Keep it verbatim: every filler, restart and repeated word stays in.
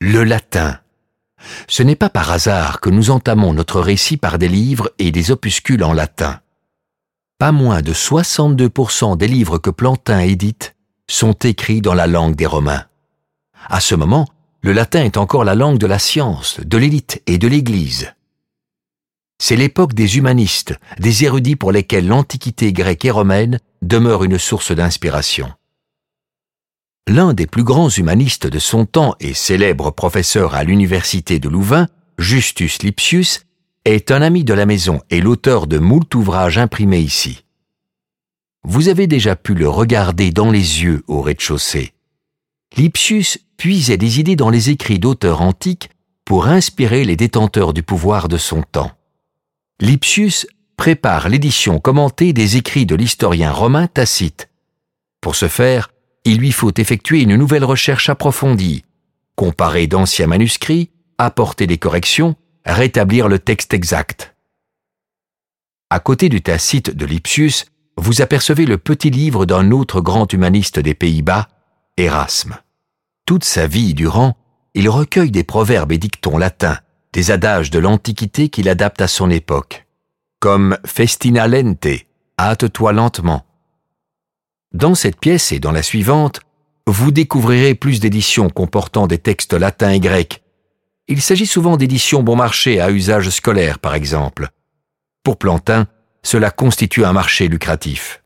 Le latin. Ce n'est pas par hasard que nous entamons notre récit par des livres et des opuscules en latin. Pas moins de soixante-deux pour cent des livres que Plantin édite sont écrits dans la langue des Romains. À ce moment, le latin est encore la langue de la science, de l'élite et de l'Église. C'est l'époque des humanistes, des érudits pour lesquels l'Antiquité grecque et romaine demeure une source d'inspiration. L'un des plus grands humanistes de son temps et célèbre professeur à l'université de Louvain, Justus Lipsius, est un ami de la maison et l'auteur de moult ouvrages imprimés ici. Vous avez déjà pu le regarder dans les yeux au rez-de-chaussée. Lipsius puisait des idées dans les écrits d'auteurs antiques pour inspirer les détenteurs du pouvoir de son temps. Lipsius prépare l'édition commentée des écrits de l'historien romain Tacite. Pour ce faire, il lui faut effectuer une nouvelle recherche approfondie, comparer d'anciens manuscrits, apporter des corrections, rétablir le texte exact. À côté du Tacite de Lipsius, vous apercevez le petit livre d'un autre grand humaniste des Pays-Bas, Erasme. Toute sa vie durant, il recueille des proverbes et dictons latins, des adages de l'Antiquité qu'il adapte à son époque, comme « festina lente », « hâte-toi lentement ». Dans cette pièce et dans la suivante, vous découvrirez plus d'éditions comportant des textes latins et grecs. Il s'agit souvent d'éditions bon marché à usage scolaire, par exemple. Pour Plantin, cela constitue un marché lucratif.